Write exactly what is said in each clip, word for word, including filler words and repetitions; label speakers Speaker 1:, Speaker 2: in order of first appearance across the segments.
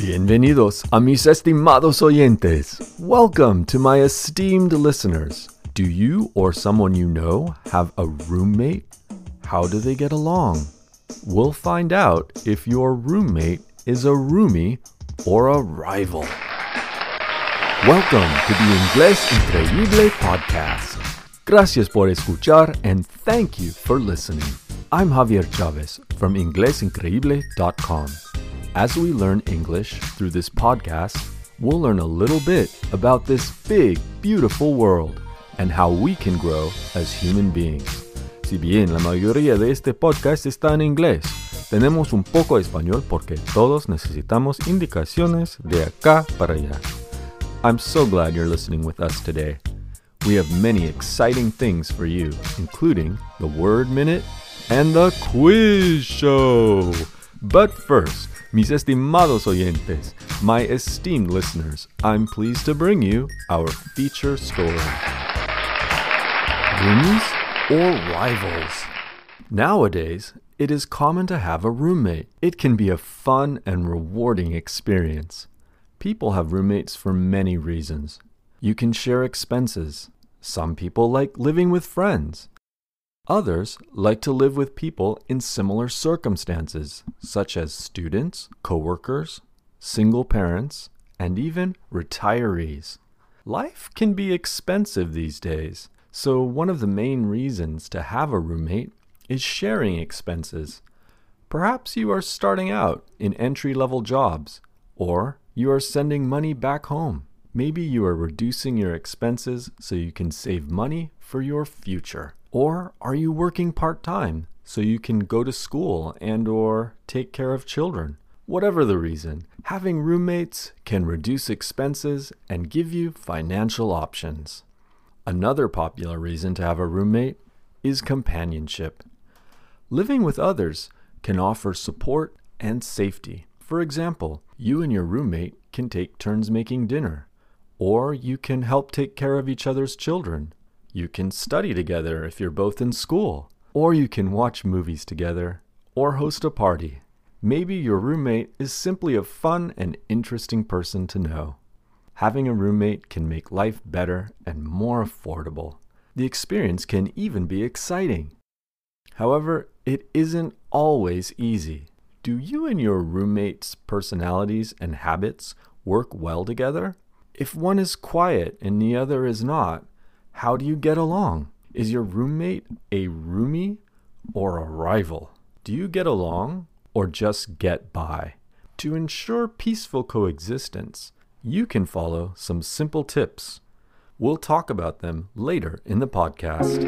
Speaker 1: Bienvenidos a mis estimados oyentes. Welcome to my esteemed listeners. Do you or someone you know have a roommate? How do they get along? We'll find out if your roommate is a roomie or a rival. Welcome to the Inglés Increíble podcast. Gracias por escuchar and thank you for listening. I'm Javier Chavez from inglés increíble dot com. As we learn English through this podcast, we'll learn a little bit about this big, beautiful world and how we can grow as human beings. Si bien la mayoría de este podcast está en inglés, tenemos un poco de español porque todos necesitamos indicaciones de acá para allá. I'm so glad you're listening with us today. We have many exciting things for you, including the Word Minute and the Quiz Show. But first, mis estimados oyentes, my esteemed listeners, I'm pleased to bring you our feature story. Roomies or rivals? Nowadays, it is common to have a roommate. It can be a fun and rewarding experience. People have roommates for many reasons. You can share expenses. Some people like living with friends. Others like to live with people in similar circumstances, such as students, coworkers, single parents, and even retirees. Life can be expensive these days, so one of the main reasons to have a roommate is sharing expenses. Perhaps you are starting out in entry-level jobs, or you are sending money back home. Maybe you are reducing your expenses so you can save money for your future. Or are you working part-time so you can go to school and or take care of children? Whatever the reason, having roommates can reduce expenses and give you financial options. Another popular reason to have a roommate is companionship. Living with others can offer support and safety. For example, you and your roommate can take turns making dinner, or you can help take care of each other's children. You can study together if you're both in school, or you can watch movies together, or host a party. Maybe your roommate is simply a fun and interesting person to know. Having a roommate can make life better and more affordable. The experience can even be exciting. However, it isn't always easy. Do you and your roommate's personalities and habits work well together? If one is quiet and the other is not, how do you get along? Is your roommate a roomie or a rival? Do you get along or just get by? To ensure peaceful coexistence, you can follow some simple tips. We'll talk about them later in the podcast.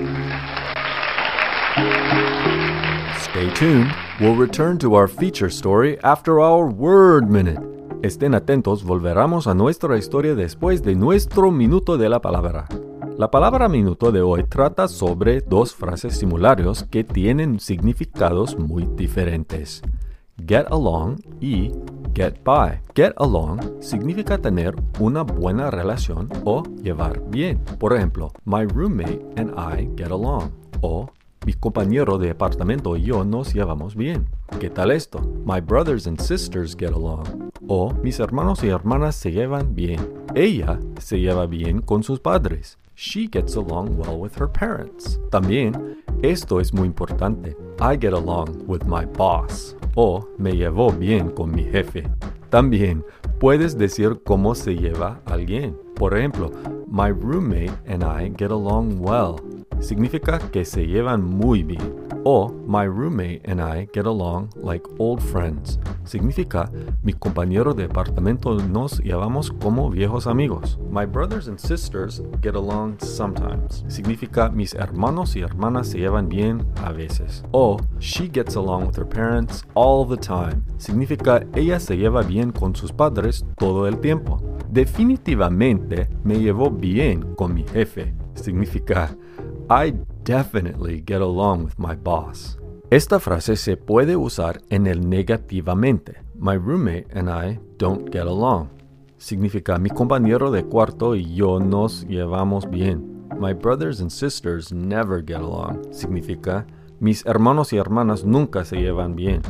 Speaker 1: Stay tuned. We'll return to our feature story after our Word Minute. Estén atentos, volveremos a nuestra historia después de nuestro Minuto de la Palabra. La palabra minuto de hoy trata sobre dos frases simularios que tienen significados muy diferentes. Get along y get by. Get along significa tener una buena relación o llevar bien. Por ejemplo, my roommate and I get along. O mi compañero de apartamento y yo nos llevamos bien. ¿Qué tal esto? My brothers and sisters get along. O mis hermanos y hermanas se llevan bien. Ella se lleva bien con sus padres. She gets along well with her parents. También, esto es muy importante. I get along with my boss. O me llevo bien con mi jefe. También, puedes decir cómo se lleva alguien. Por ejemplo, my roommate and I get along well. Significa que se llevan muy bien. O my roommate and I get along like old friends. Significa mi compañero de apartamento nos llevamos como viejos amigos. My brothers and sisters get along sometimes. Significa mis hermanos y hermanas se llevan bien a veces. O she gets along with her parents all the time. Significa ella se lleva bien con sus padres todo el tiempo. Definitivamente me llevo bien con mi jefe. Significa I definitely get along with my boss. Esta frase se puede usar en el negativamente. My roommate and I don't get along. Significa mi compañero de cuarto y yo nos llevamos bien. My brothers and sisters never get along. Significa mis hermanos y hermanas nunca se llevan bien.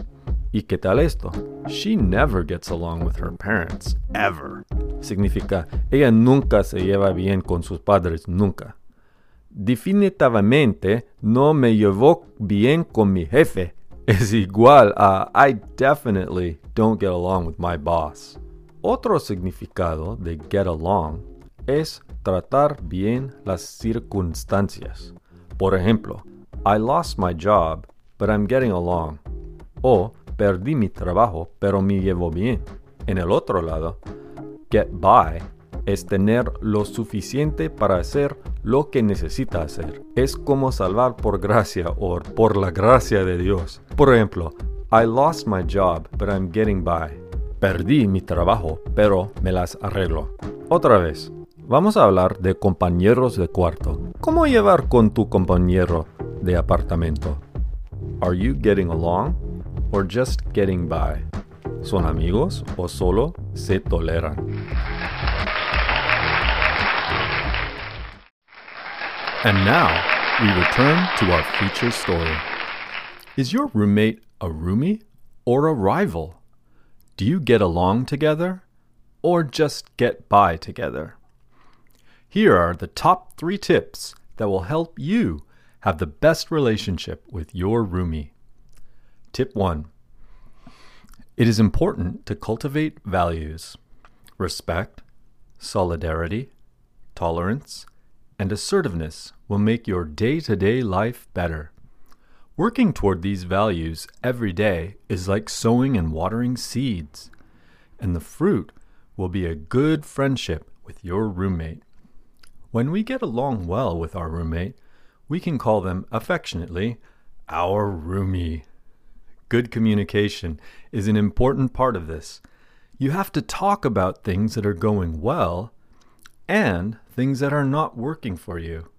Speaker 1: ¿Y qué tal esto? She never gets along with her parents, ever. Significa, ella nunca se lleva bien con sus padres, nunca. Definitivamente no me llevo bien con mi jefe. Es igual a I definitely don't get along with my boss. Otro significado de get along es tratar bien las circunstancias. Por ejemplo, I lost my job, but I'm getting along. O perdí mi trabajo, pero me llevo bien. En el otro lado, get by es tener lo suficiente para hacer lo que necesita hacer. Es como salvar por gracia o por la gracia de Dios. Por ejemplo, I lost my job, but I'm getting by. Perdí mi trabajo, pero me las arreglo. Otra vez, vamos a hablar de compañeros de cuarto. ¿Cómo llevar con tu compañero de apartamento? Are you getting along or just getting by? ¿Son amigos o solo se toleran? And now, we return to our feature story. Is your roommate a roomie or a rival? Do you get along together or just get by together? Here are the top three tips that will help you have the best relationship with your roomie. Tip one. It is important to cultivate values. Respect, solidarity, tolerance, and assertiveness will make your day-to-day life better. Working toward these values every day is like sowing and watering seeds, and the fruit will be a good friendship with your roommate. When we get along well with our roommate, we can call them affectionately our roomie. Good communication is an important part of this. You have to talk about things that are going well and things that are not working for you.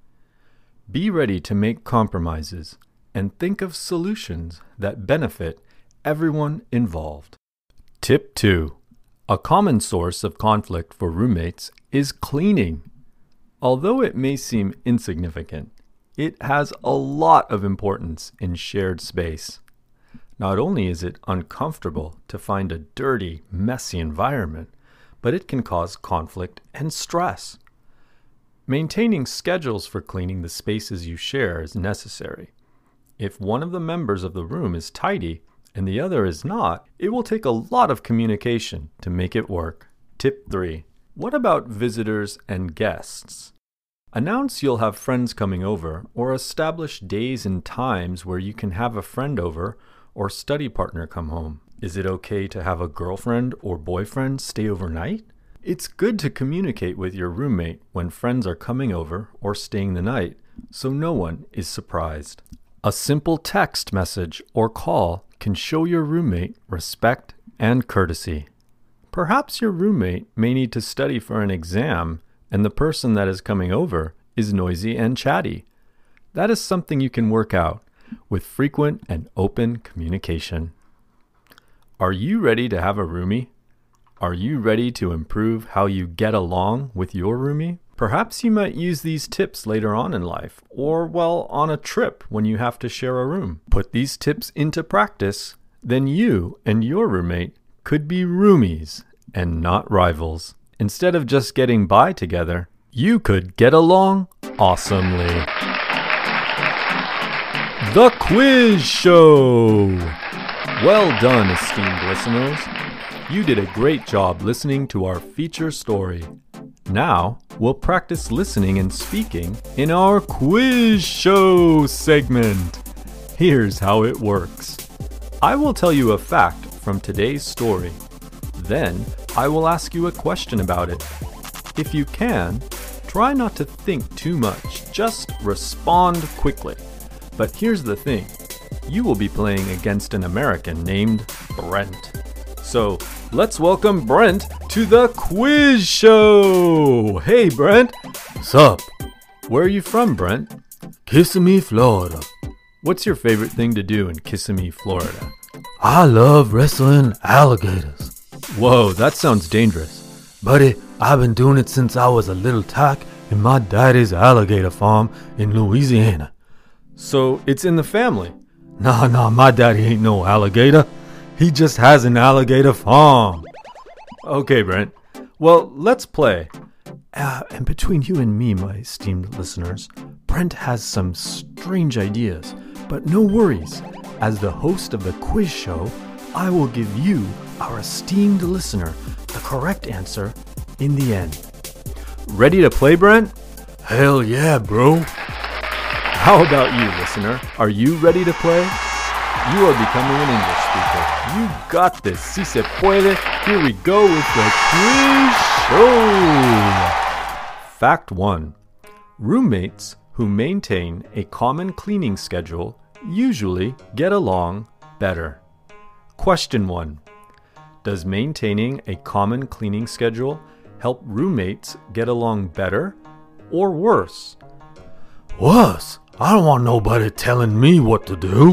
Speaker 1: Be ready to make compromises and think of solutions that benefit everyone involved. Tip two. A common source of conflict for roommates is cleaning. Although it may seem insignificant, it has a lot of importance in shared space. Not only is it uncomfortable to find a dirty, messy environment, but it can cause conflict and stress. Maintaining schedules for cleaning the spaces you share is necessary. If one of the members of the room is tidy and the other is not, it will take a lot of communication to make it work. Tip three. What about visitors and guests? Announce you'll have friends coming over, or establish days and times where you can have a friend over or study partner come home. Is it okay to have a girlfriend or boyfriend stay overnight? It's good to communicate with your roommate when friends are coming over or staying the night, so no one is surprised. A simple text message or call can show your roommate respect and courtesy. Perhaps your roommate may need to study for an exam, and the person that is coming over is noisy and chatty. That is something you can work out with frequent and open communication. Are you ready to have a roomie? Are you ready to improve how you get along with your roomie? Perhaps you might use these tips later on in life, or, well, on a trip when you have to share a room. Put these tips into practice, then you and your roommate could be roomies and not rivals. Instead of just getting by together, you could get along awesomely. The Quiz Show! Well done, esteemed listeners. You did a great job listening to our feature story. Now, we'll practice listening and speaking in our Quiz Show segment. Here's how it works. I will tell you a fact from today's story. Then, I will ask you a question about it. If you can, try not to think too much. Just respond quickly. But here's the thing. You will be playing against an American named Brent. So, let's welcome Brent to the Quiz Show! Hey, Brent!
Speaker 2: What's up?
Speaker 1: Where are you from, Brent?
Speaker 2: Kissimmee, Florida.
Speaker 1: What's your favorite thing to do in Kissimmee, Florida?
Speaker 2: I love wrestling alligators.
Speaker 1: Whoa, that sounds dangerous.
Speaker 2: Buddy, I've been doing it since I was a little tack in my daddy's alligator farm in Louisiana.
Speaker 1: So, it's in the family?
Speaker 2: Nah, nah, my daddy ain't no alligator. He just has an alligator farm.
Speaker 1: Okay, Brent. Well, let's play.
Speaker 2: Uh, and between you and me, my esteemed listeners, Brent has some strange ideas. But no worries. As the host of the quiz show, I will give you, our esteemed listener, the correct answer in the end.
Speaker 1: Ready to play, Brent?
Speaker 2: Hell yeah, bro.
Speaker 1: How about you, listener? Are you ready to play? You are becoming an English speaker. You got this. Si se puede. Here we go with the quiz show. Fact one. Roommates who maintain a common cleaning schedule usually get along better. Question one. Does maintaining a common cleaning schedule help roommates get along better or worse?
Speaker 2: Worse? I don't want nobody telling me what to do.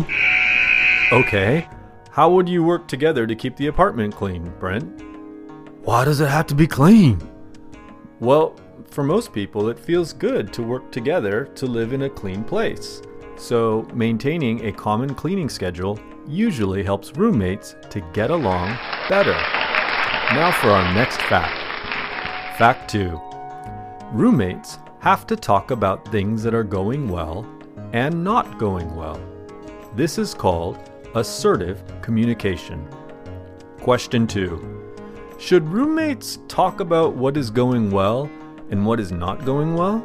Speaker 1: Okay. How would you work together to keep the apartment clean, Brent?
Speaker 2: Why does it have to be clean?
Speaker 1: Well, for most people, it feels good to work together to live in a clean place. So, maintaining a common cleaning schedule usually helps roommates to get along better. Now for our next fact. Fact two. Roommates have to talk about things that are going well and not going well. This is called assertive communication. Question two. Should roommates talk about what is going well and what is not going well?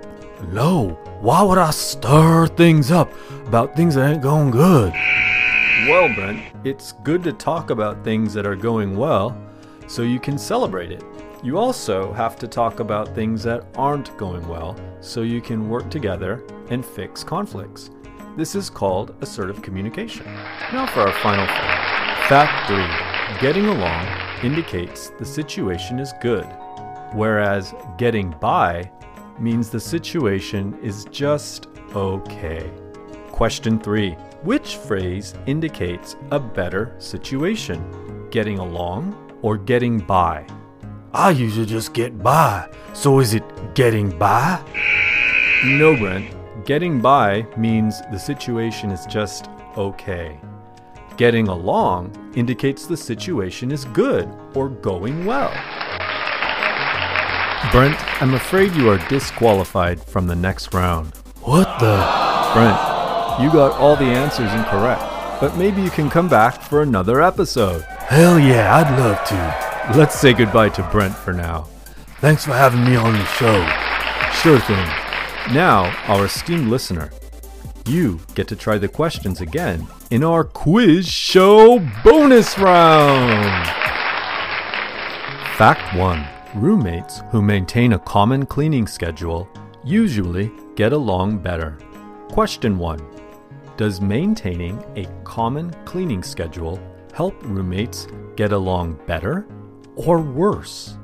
Speaker 2: No. Why would I stir things up about things that ain't going good?
Speaker 1: Well, Brent, it's good to talk about things that are going well so you can celebrate it. You also have to talk about things that aren't going well so you can work together and fix conflicts. This is called assertive communication. Now for our final fact. Fact three. Getting along indicates the situation is good, whereas getting by means the situation is just okay. Question three. Which phrase indicates a better situation? Getting along or getting by?
Speaker 2: I usually just get by. So is it getting by?
Speaker 1: No, Brent. Getting by means the situation is just okay. Getting along indicates the situation is good or going well. Brent, I'm afraid you are disqualified from the next round.
Speaker 2: What the?
Speaker 1: Brent, you got all the answers incorrect, but maybe you can come back for another episode.
Speaker 2: Hell yeah, I'd love to.
Speaker 1: Let's say goodbye to Brent for now.
Speaker 2: Thanks for having me on the show.
Speaker 1: Sure thing. Now, our esteemed listener, you get to try the questions again in our quiz show bonus round. Fact one. Roommates who maintain a common cleaning schedule usually get along better. Question one. Does maintaining a common cleaning schedule help roommates get along better or worse?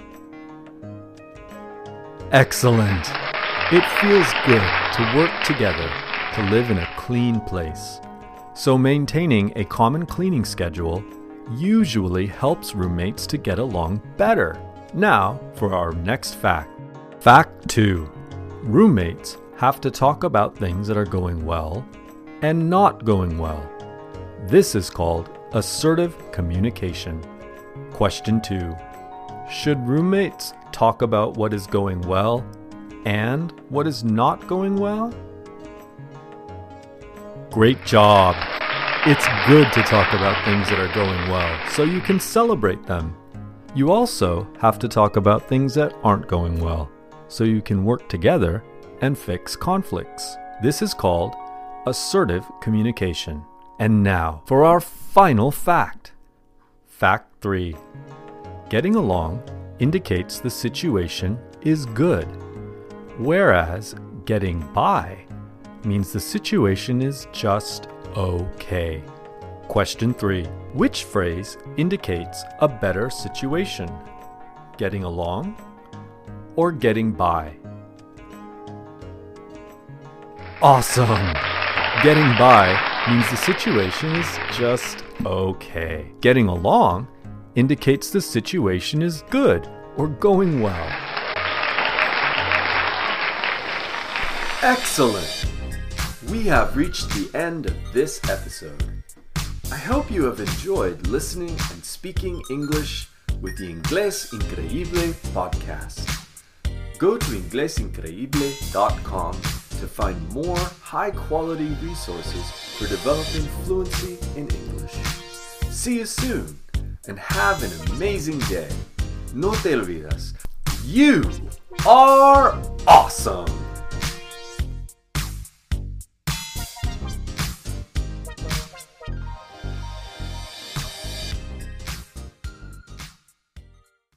Speaker 1: Excellent! It feels good to work together to live in a clean place. So maintaining a common cleaning schedule usually helps roommates to get along better. Now for our next fact. Fact two. Roommates have to talk about things that are going well and not going well. This is called assertive communication. Question two. Should roommates talk about what is going well and what is not going well? Great job! It's good to talk about things that are going well so you can celebrate them. You also have to talk about things that aren't going well so you can work together and fix conflicts. This is called assertive communication. And now for our final fact. Fact three. Getting along indicates the situation is good, whereas getting by means the situation is just okay. Question three. Which phrase indicates a better situation? Getting along or getting by? Awesome! Getting by means the situation is just okay. Getting along indicates the situation is good or going well. Excellent! We have reached the end of this episode. I hope you have enjoyed listening and speaking English with the Inglés Increíble podcast. Go to inglés increíble dot com to find more high-quality resources for developing fluency in English. See you soon, and have an amazing day. No te olvides, you are awesome!